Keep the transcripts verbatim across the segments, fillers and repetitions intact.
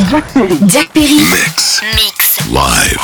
Jack Perry. Jack Perry. Mix. Mix. Live.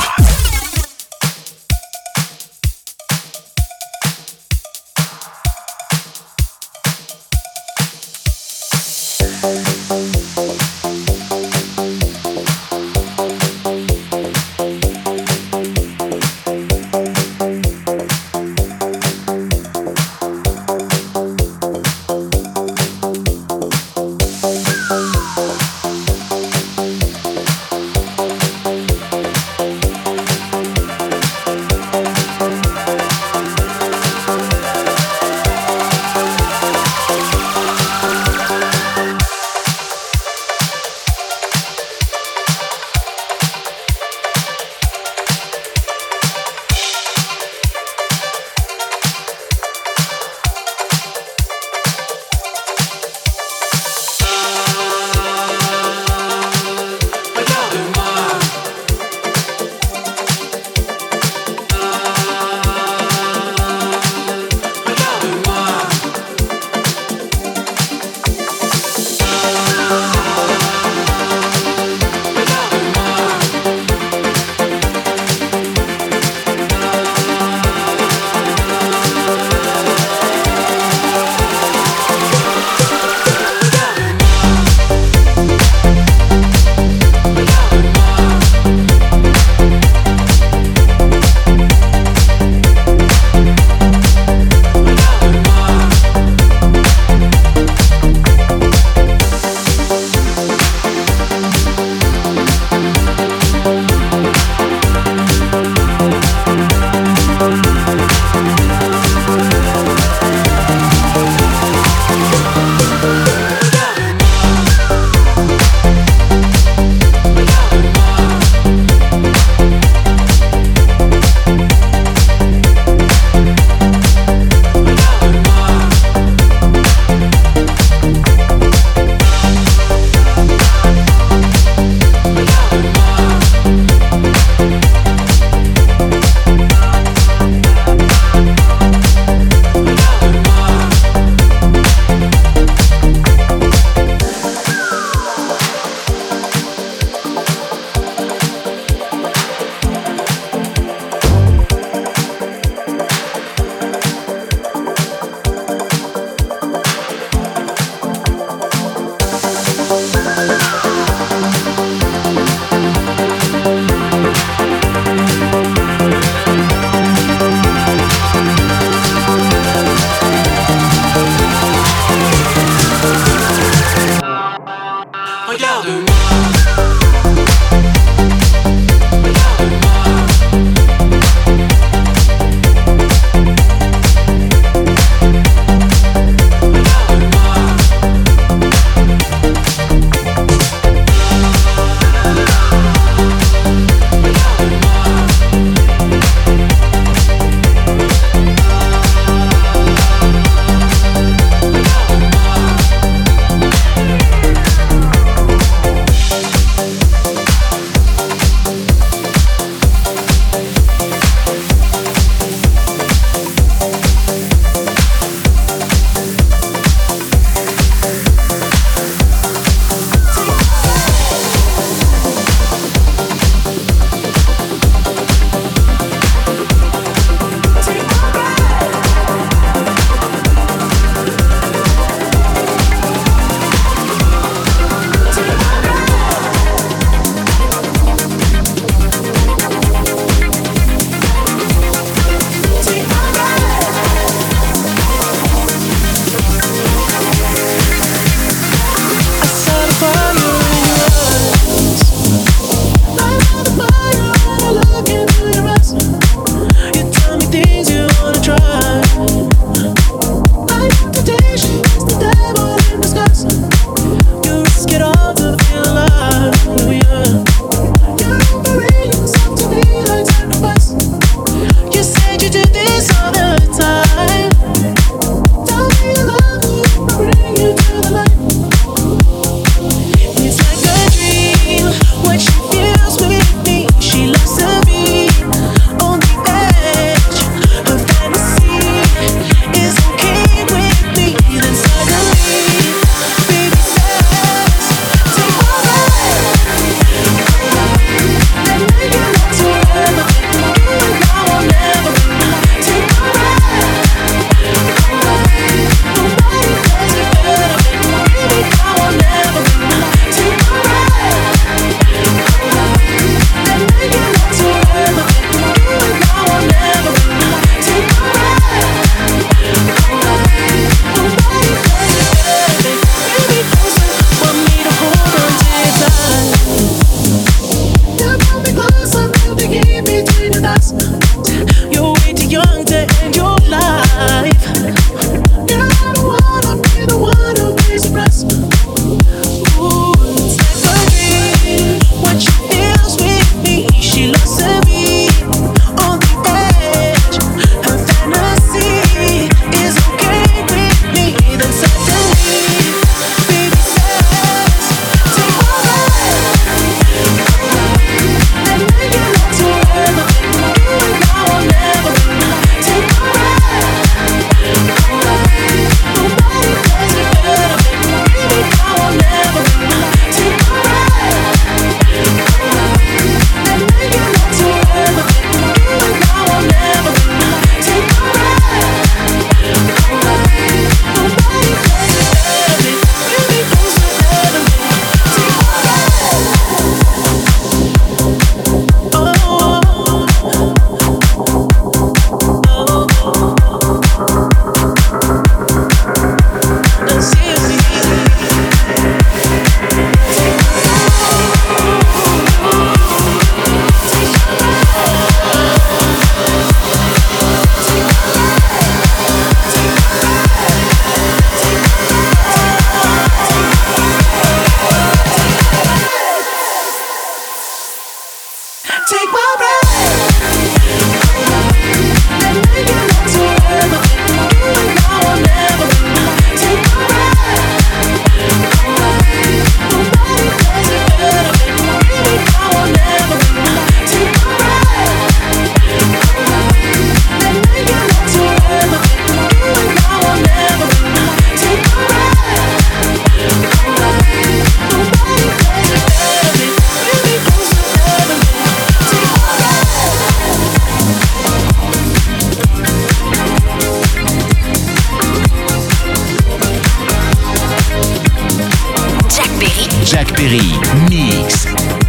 Perry. Jack Perry, mix.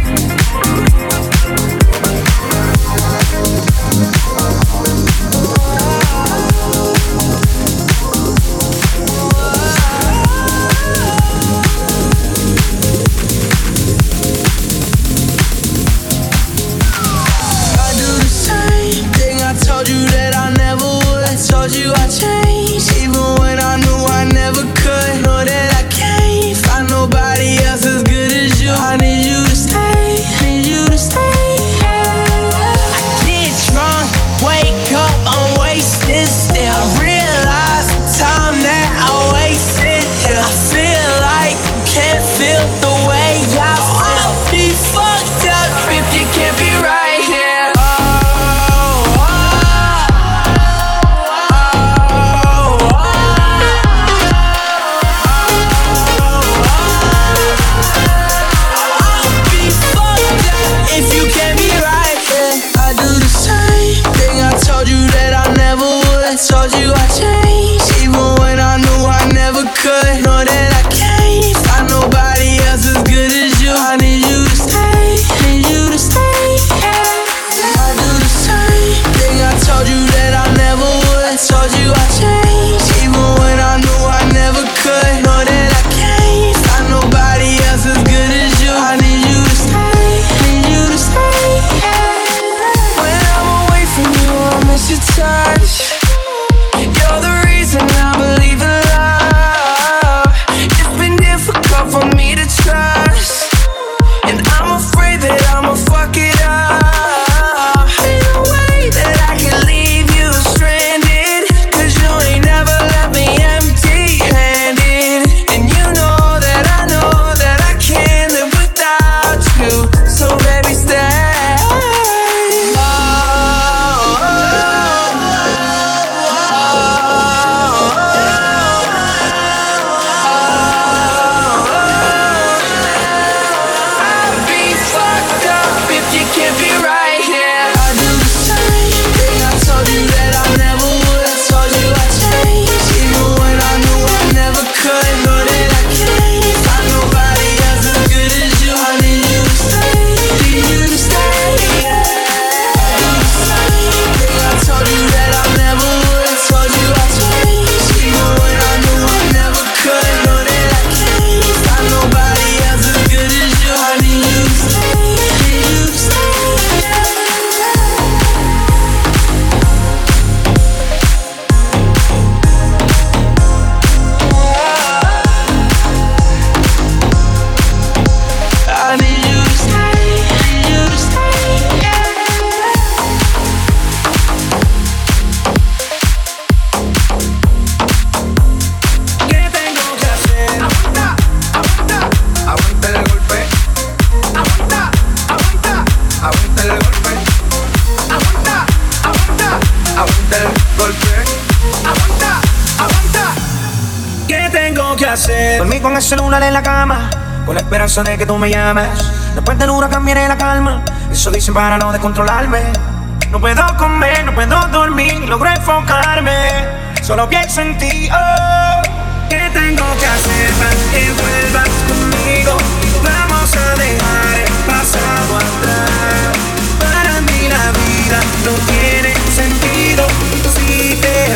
Dormí con el celular en la cama, con la esperanza de que tú me llames. Después del huracán viene la calma, eso dicen para no descontrolarme. No puedo comer, no puedo dormir, logro enfocarme, solo pienso en ti. Oh, ¿qué tengo que hacer para que vuelvas conmigo? Vamos a dejar el pasado atrás. Para mí la vida no tiene sentido si te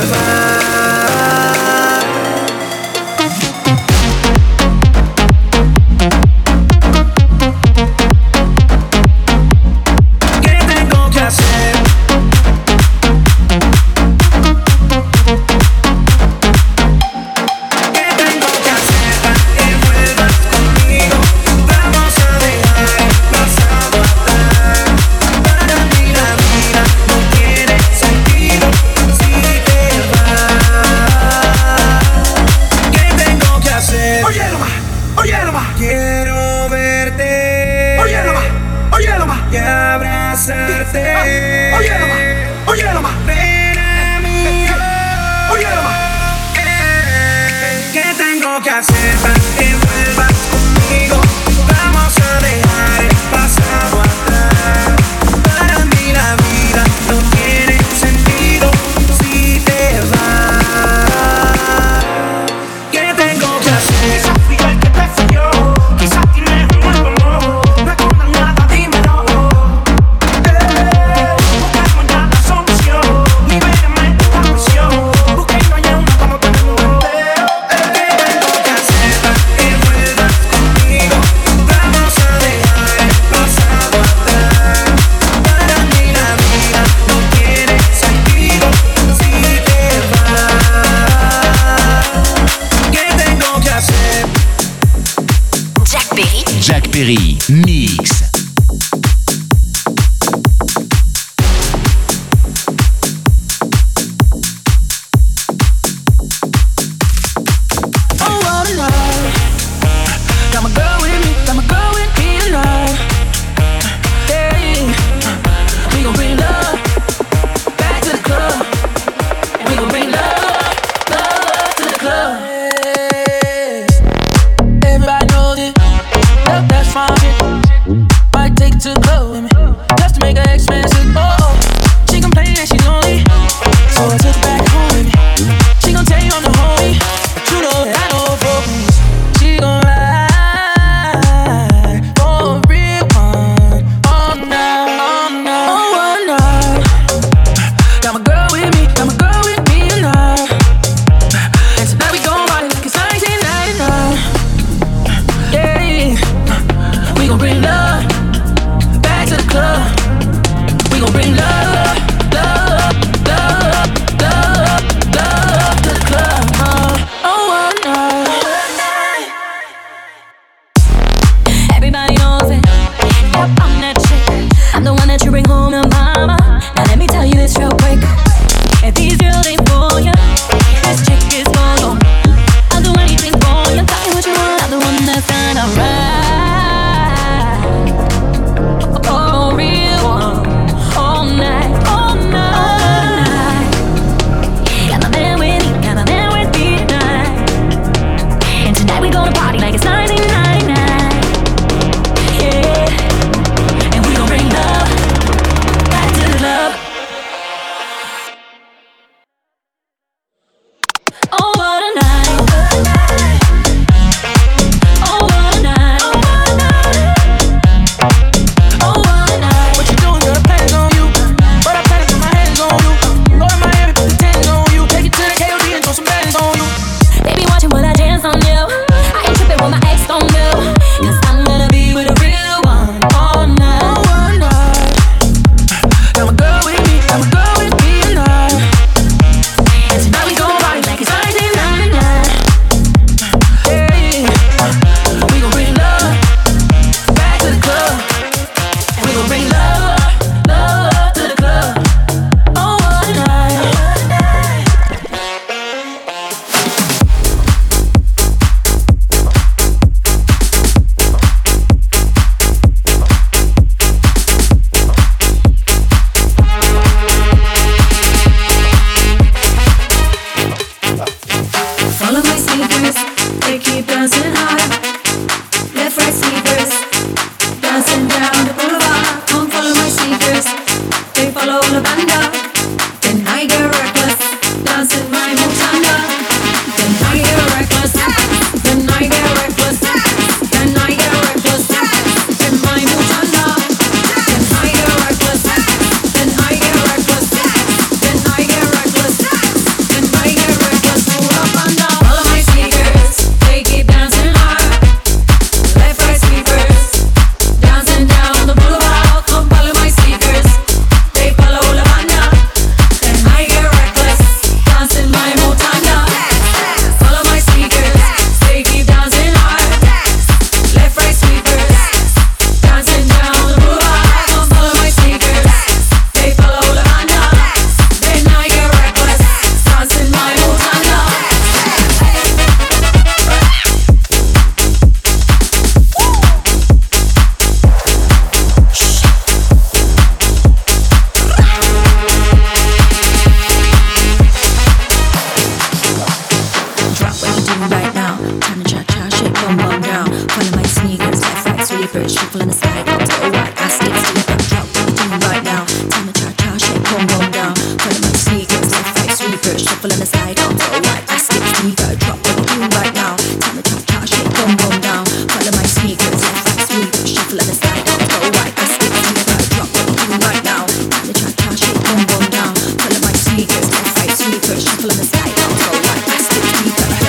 vas. Quizás Jack Perry, Mix.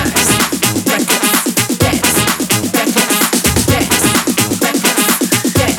Dance,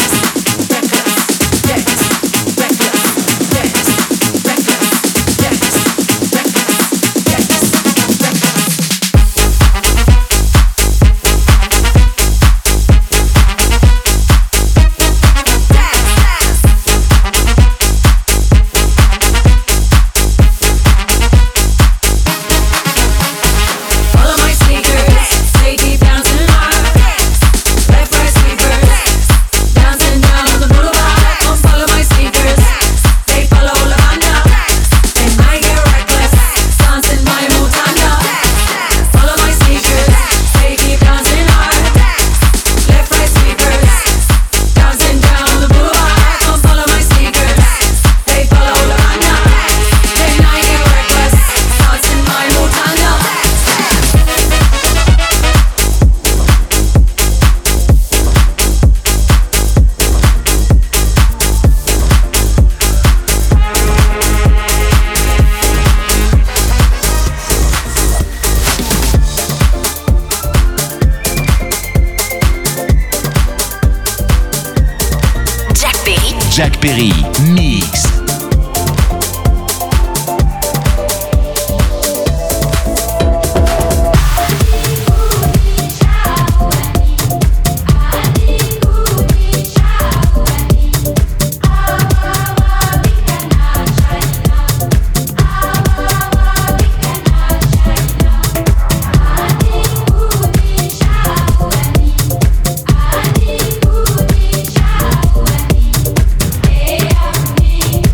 Jacques Perry, mix. Me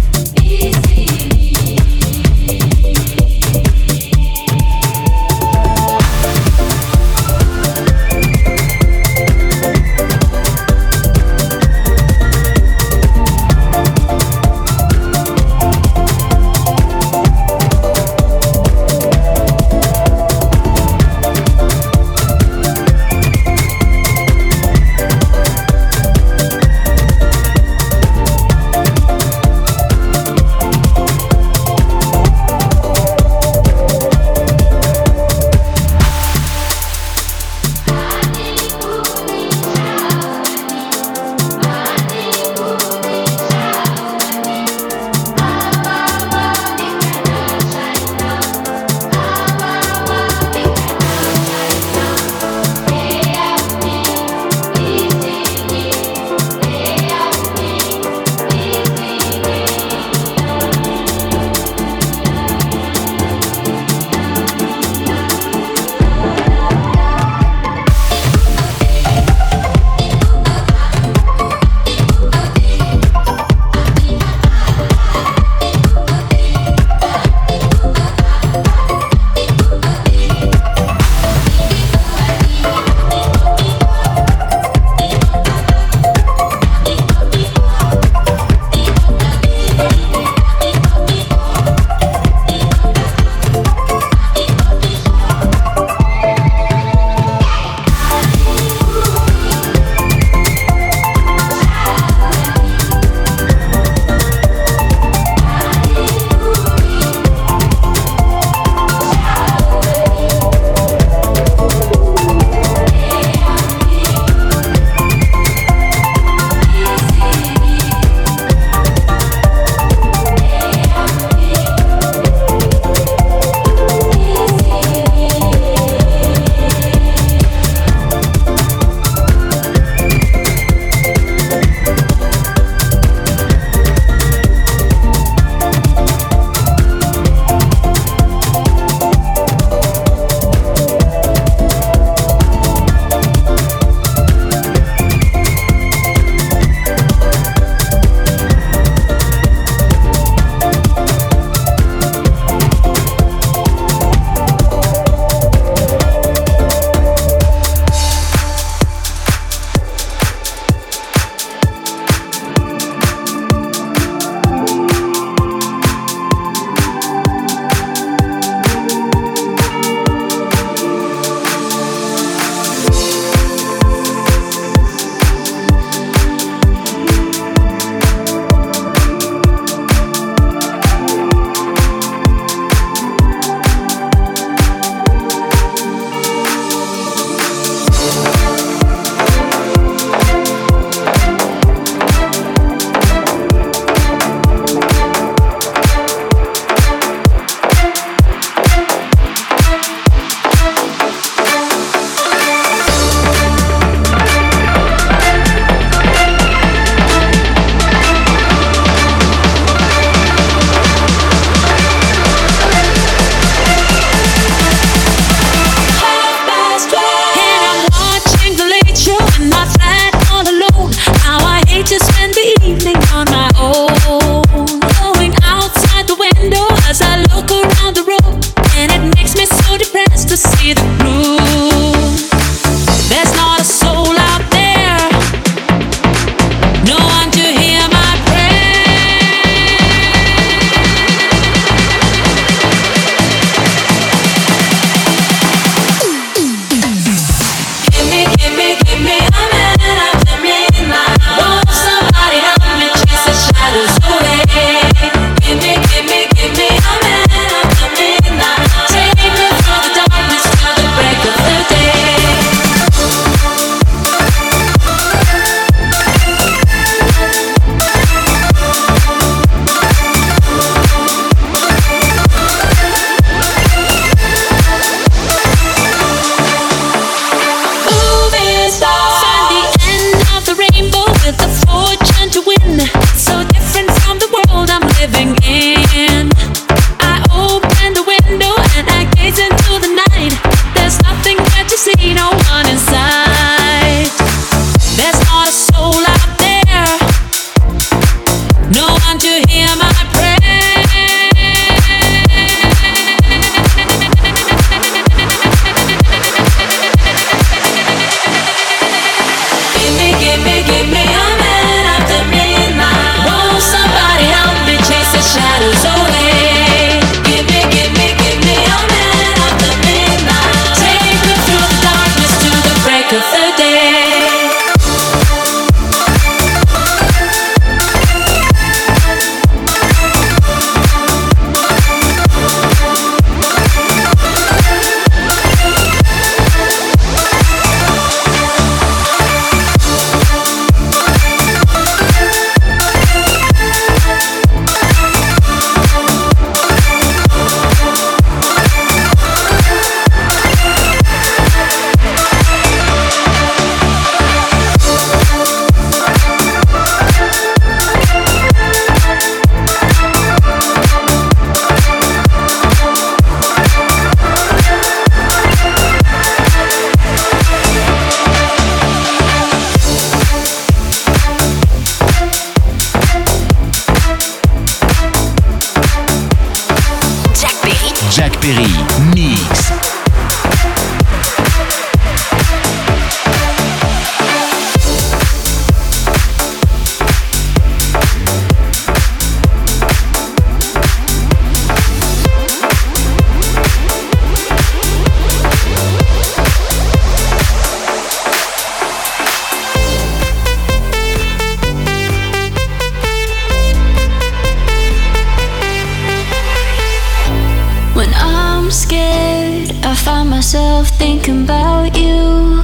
myself thinking about you.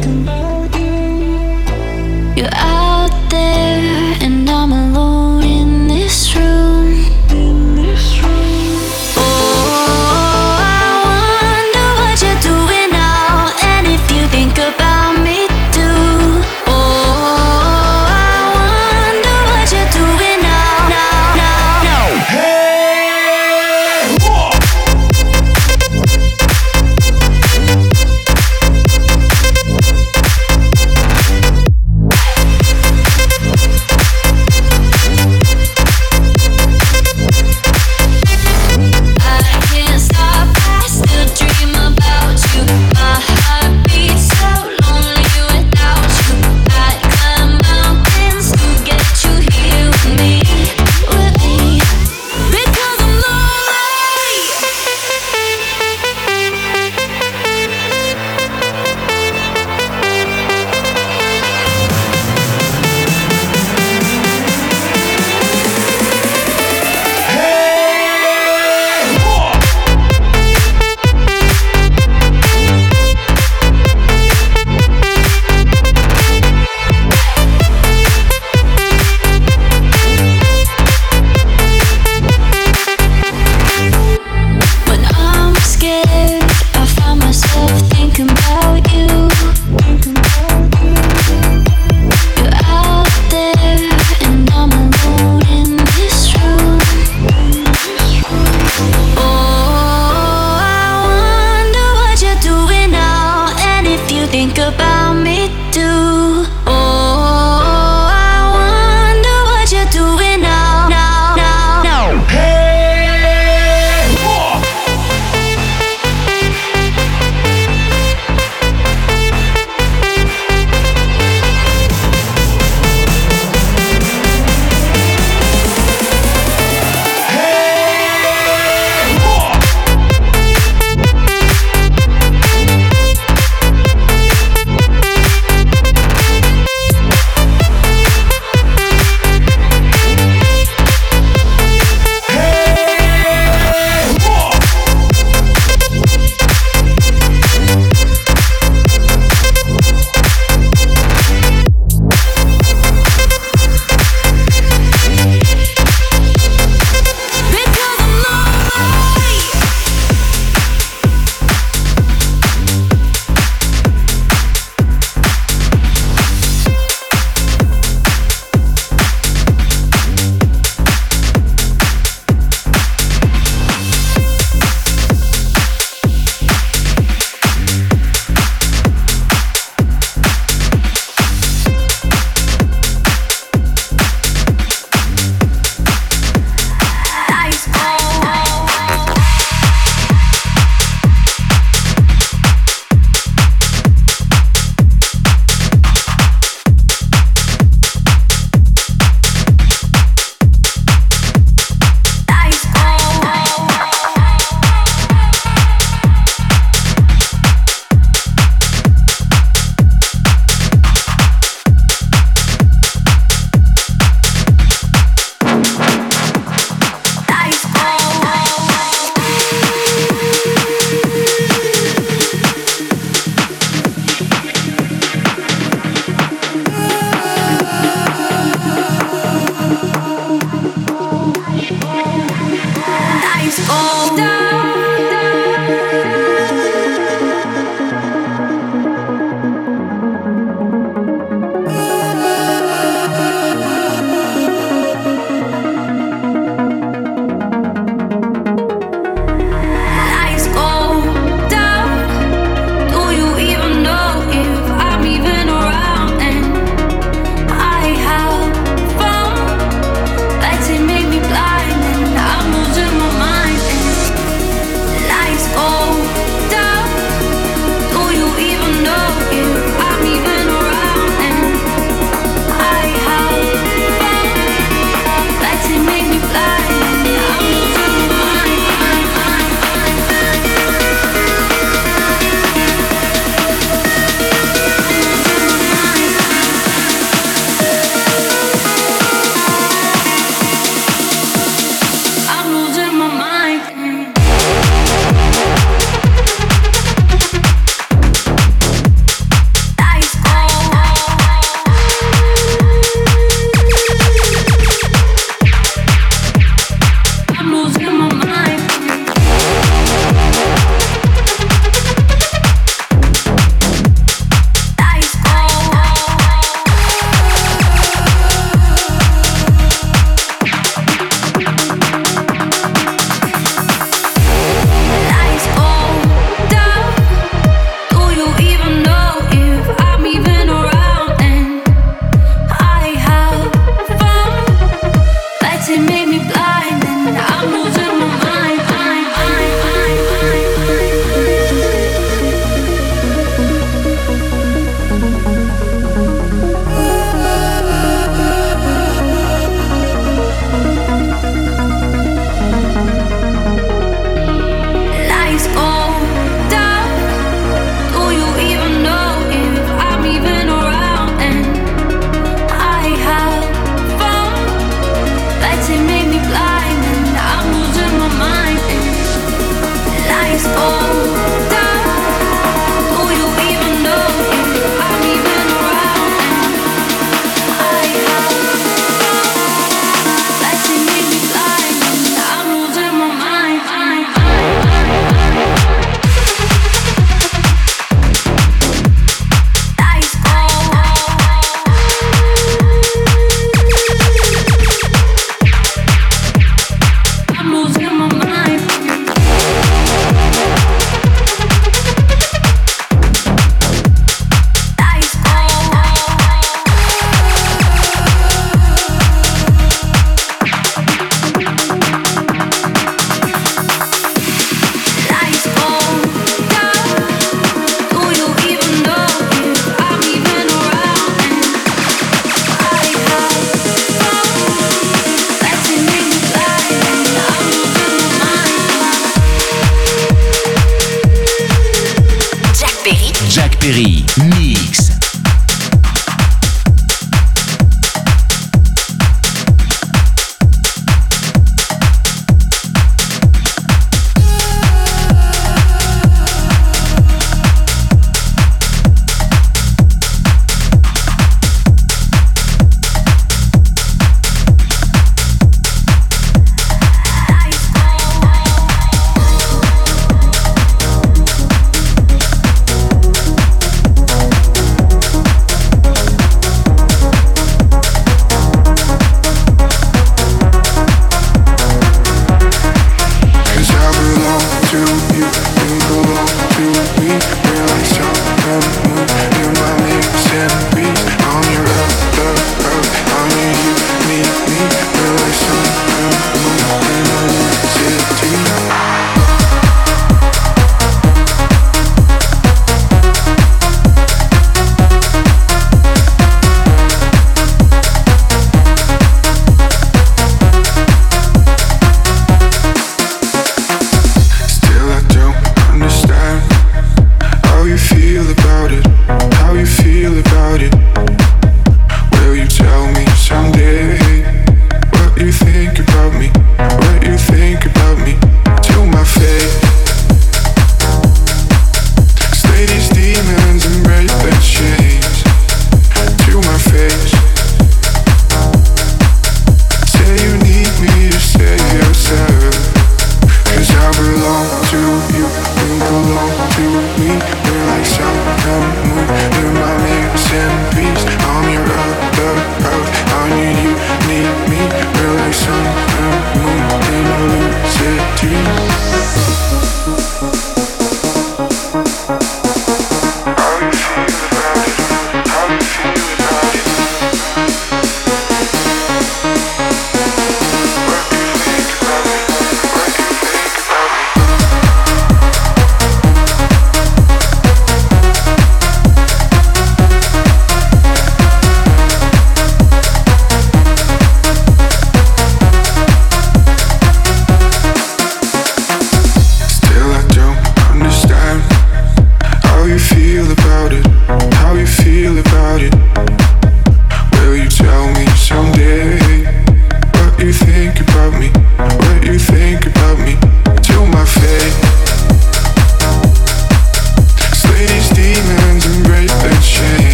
You're out there and I'm alone in this room. Oh, I wonder what you're doing now, and if you think about me too. Oh, I wonder what you're doing now, now, now, now. Hey,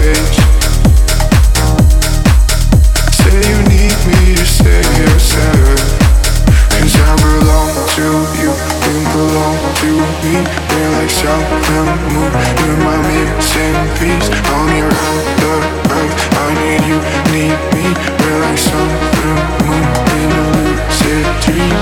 face. Say you need me to say yourself, 'cause I belong to you, you belong to me. We're like sun and moon, you're my missing piece. On your other earth, I need you, need me. We're like sun and moon in a lucid dream.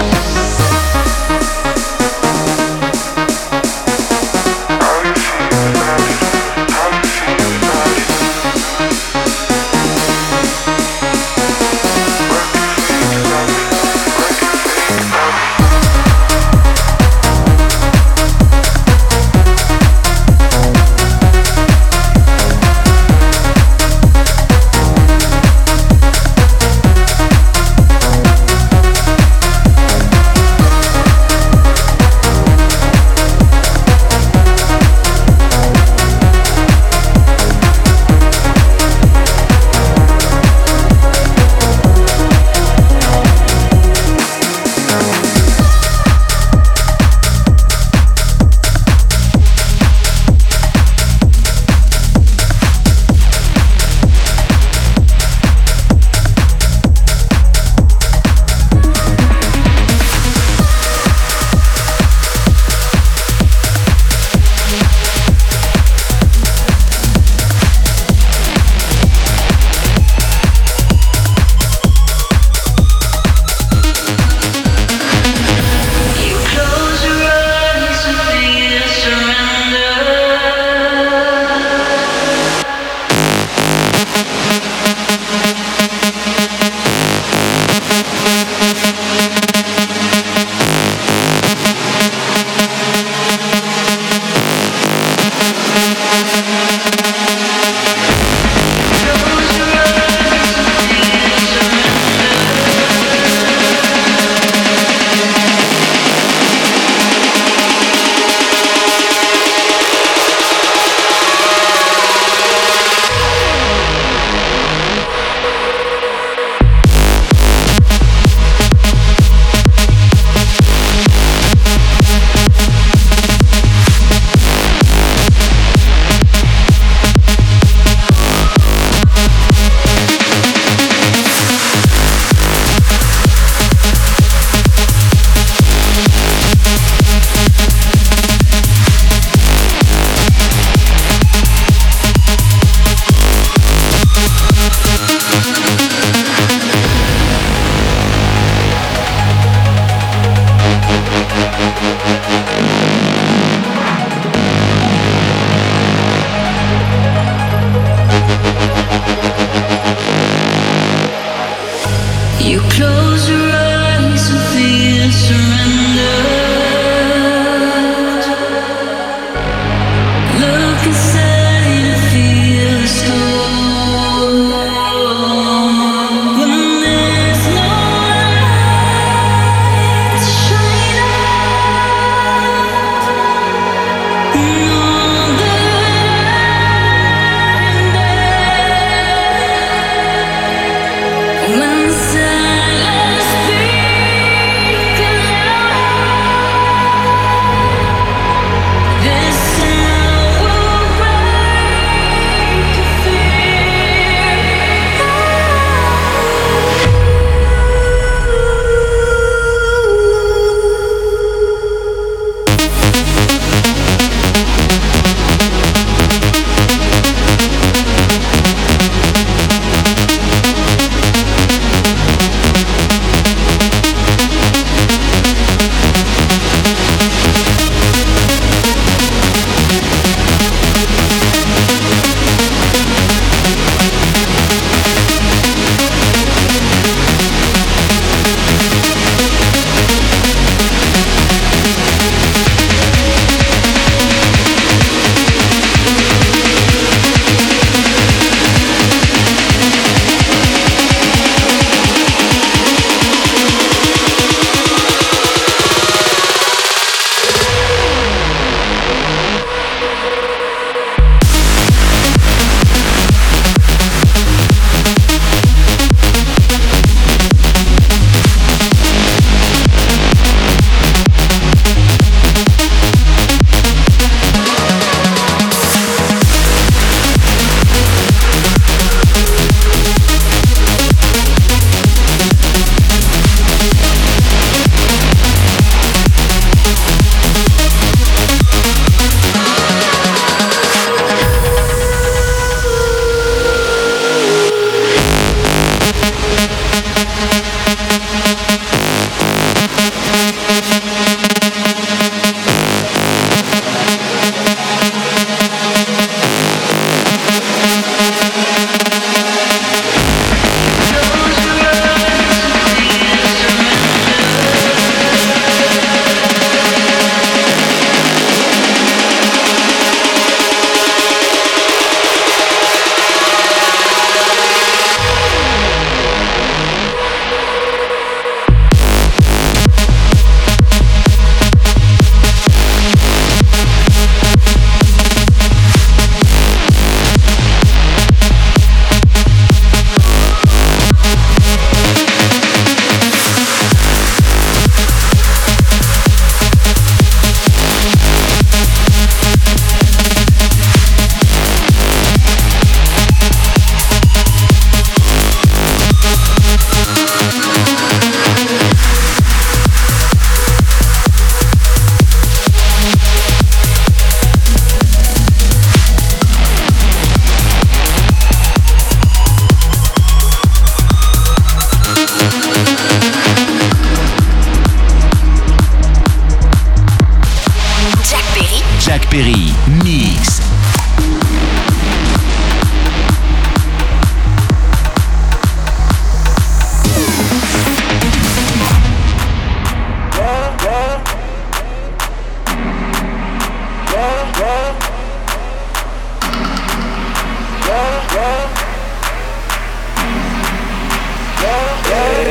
When the silence speaks aloud.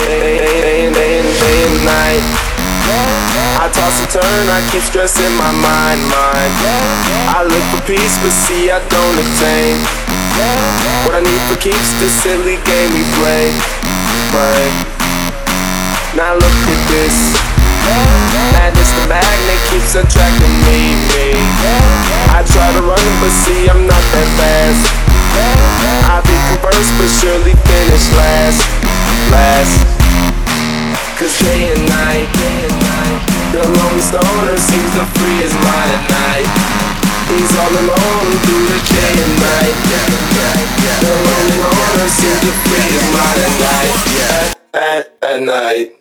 day, day, and day, and day and night. I toss and turn, I keep stressing my mind, mind. I look for peace, but see I don't attain what I need for keeps this silly game we play, play. Now look at this. Madness, the magnet keeps attracting me, me. I try to run, but see I'm not that fast. I become first, but surely finish last, last. Cause day and night, the lonely stoner seems to free his mind at night. He's all alone through the day and night. The lonely loner seems to free his mind at night, at, at, at night.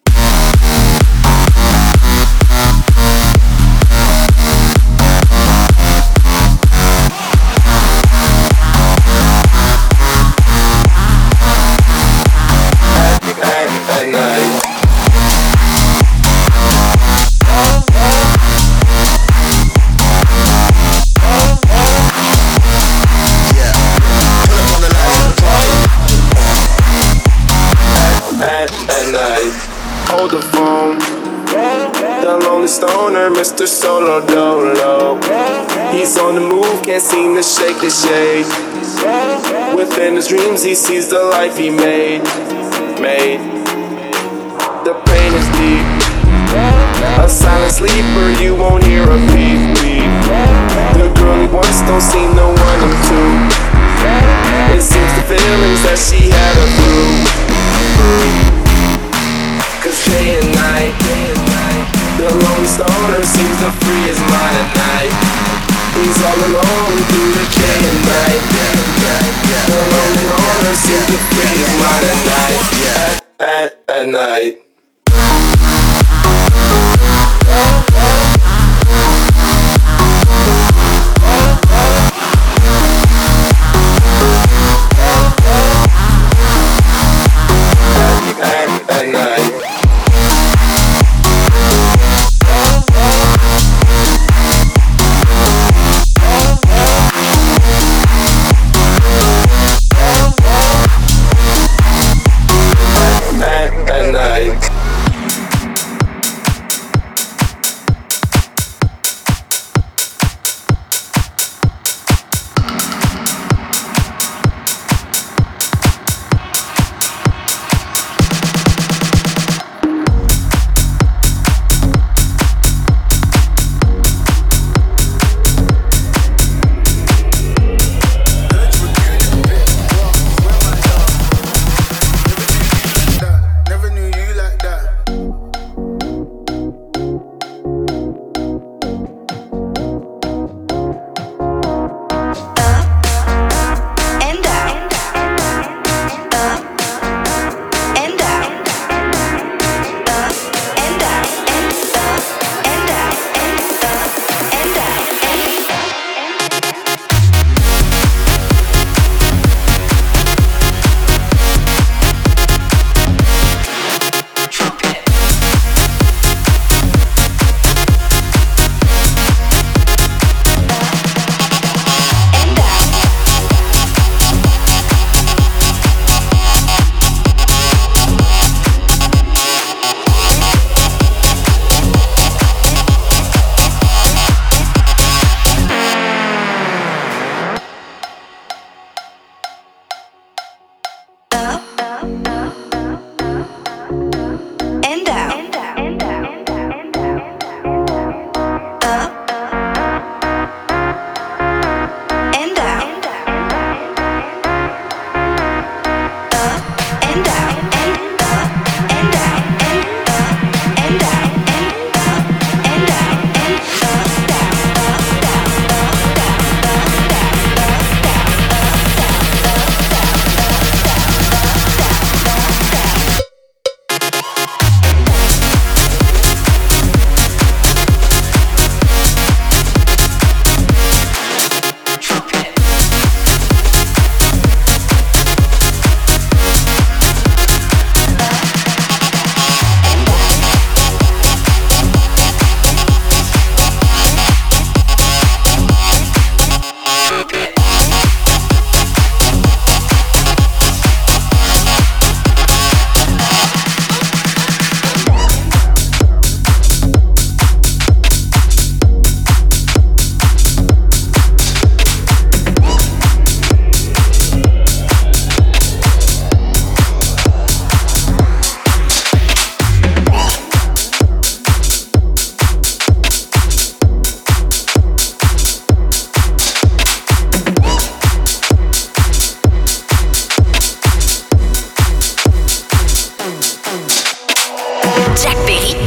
Hold the phone. The lonely stoner, Mister Solo Dolo. He's on the move, can't seem to shake the shade. Within his dreams, he sees the life he made. Made. The pain is deep. A silent sleeper, you won't hear a beep, beep. The girl he wants don't seem to want him to. It seems the feelings that she had are through. Cause day and night, the lonely stoner seems to free his mind at night. He's all alone through the day and night. The lonely loner seems to free his mind at night. At, at, at night. At, at night. At night.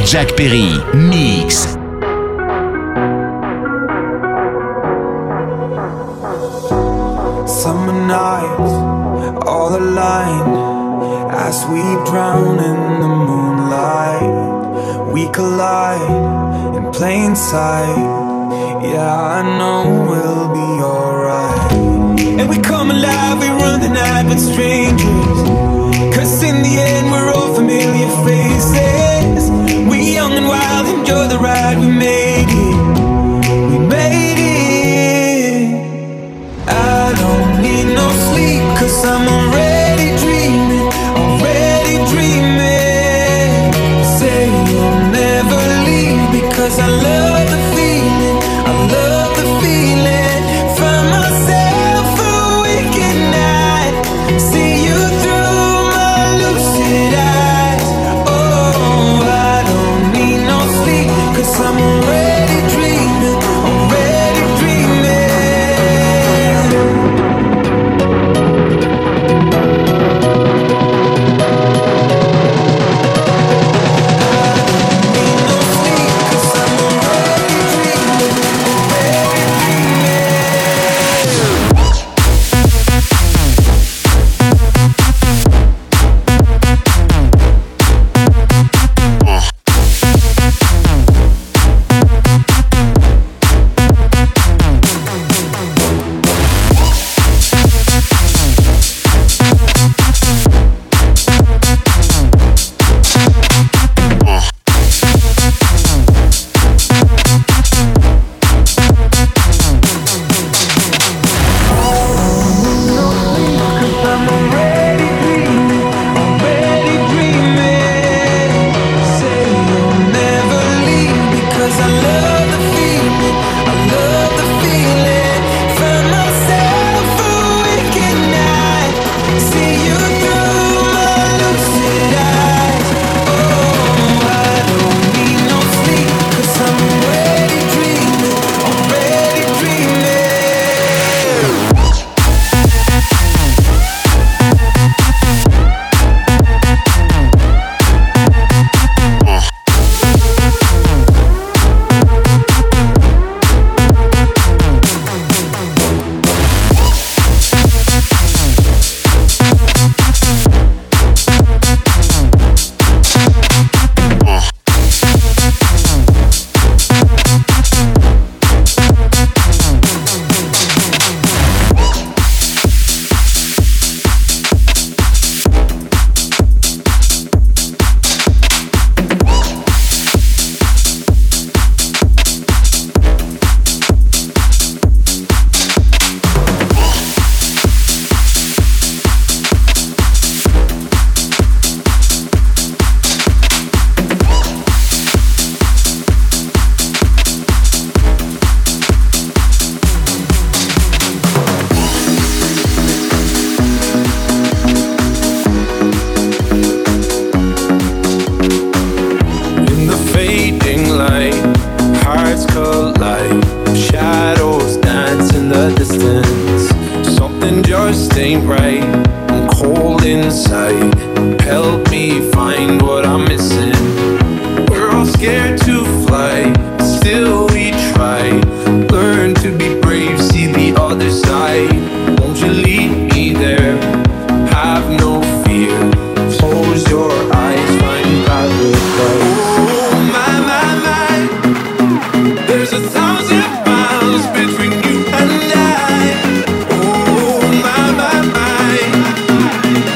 Jack Perry, Mix. Summer nights, all aligned, as we drown in the moonlight. We collide in plain sight. Yeah, I know we'll be alright. And we come alive, we run the night with strangers. Cause in the end we're all familiar faces. We young and wild, enjoy the ride, we made it. We made it. I don't need no sleep, cause I'm already dreaming, already dreaming. Say you'll never leave, because I love the feeling, I love the feeling. Find myself awake at night, see you through my lucid eyes. Oh, I don't need no sleep, cause I'm already dreaming, already dreaming.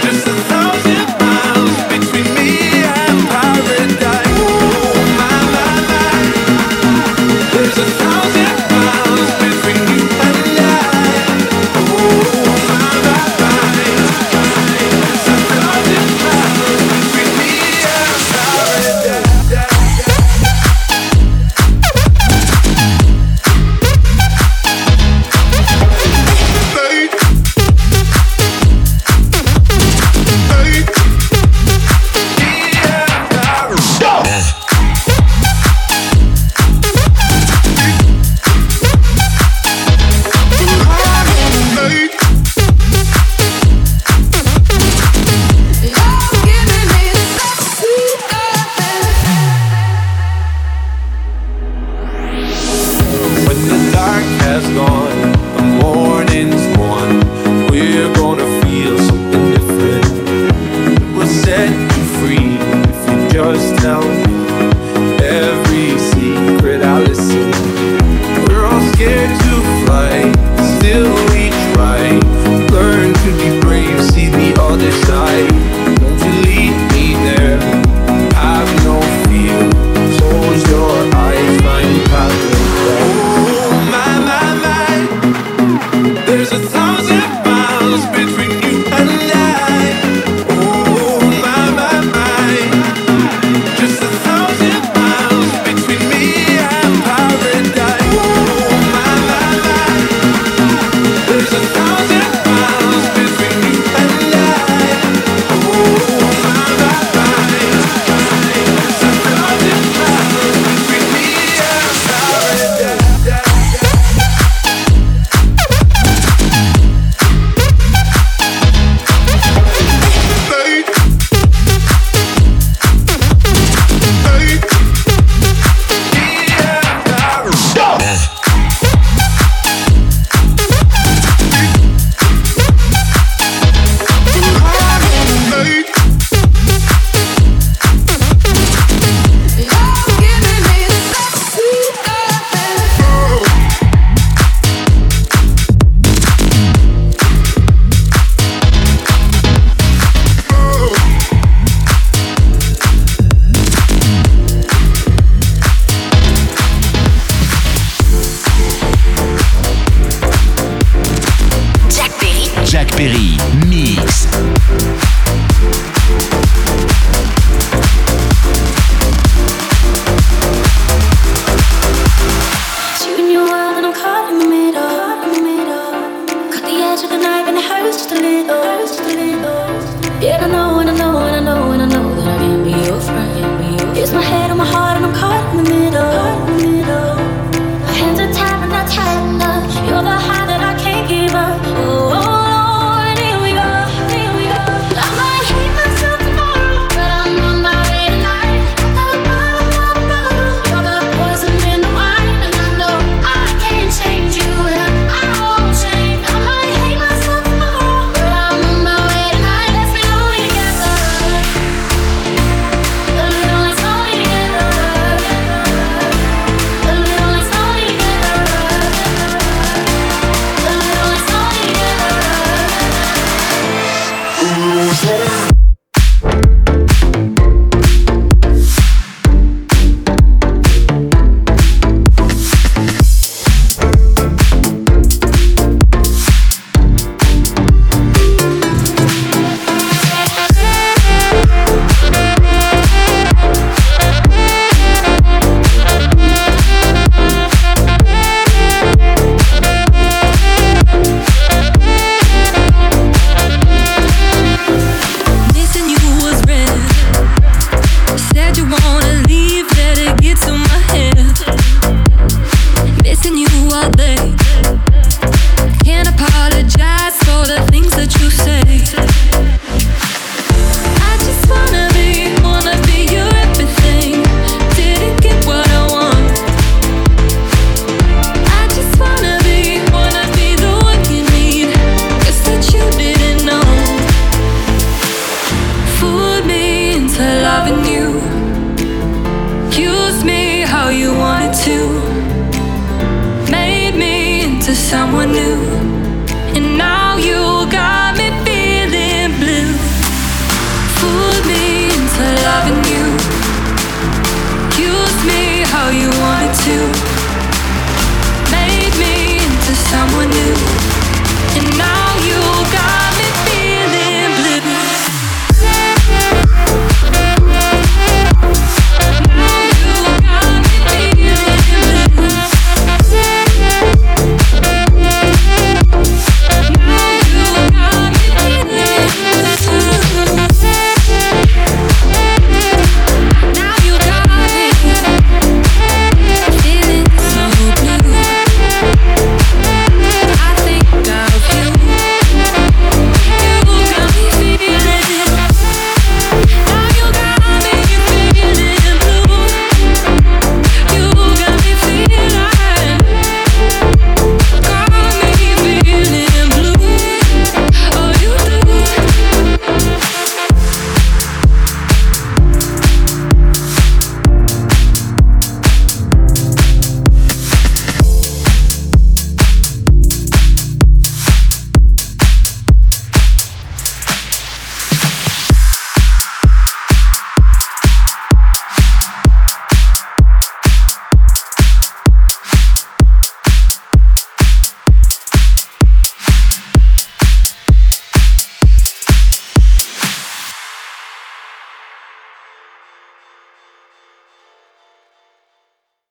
My Jack Perry, Mix. Yeah, I know, and I know, and I know, and I know that I can be your friend. It's my head on my heart, and I'm caught in the middle. My hands are tied, and not tight enough. You're the high that I can't give up. Oh, oh Lord, here we go, here we go. I might hate myself tomorrow, but I'm on my way tonight. You're the poison in the wine, and I know I can't change you, and I won't change. I might hate myself tomorrow, but I'm on my way tonight. Let's be lonely together. A little less lonely together. A little less lonely together. A little less lonely together. Missing you was red. Said you wanna leave, let it get to my head. Missing you all day. Can't apologize for the things that you say. I just wanna be, wanna be your everything. Didn't get what I want. I just wanna be, wanna be the one you need. Guess that you didn't know. Fooled me into loving you. Used me how you wanted to. Made me into someone new. And now you got me feeling blue. Fooled me into loving you. Used me how you wanted to. Made me into someone new.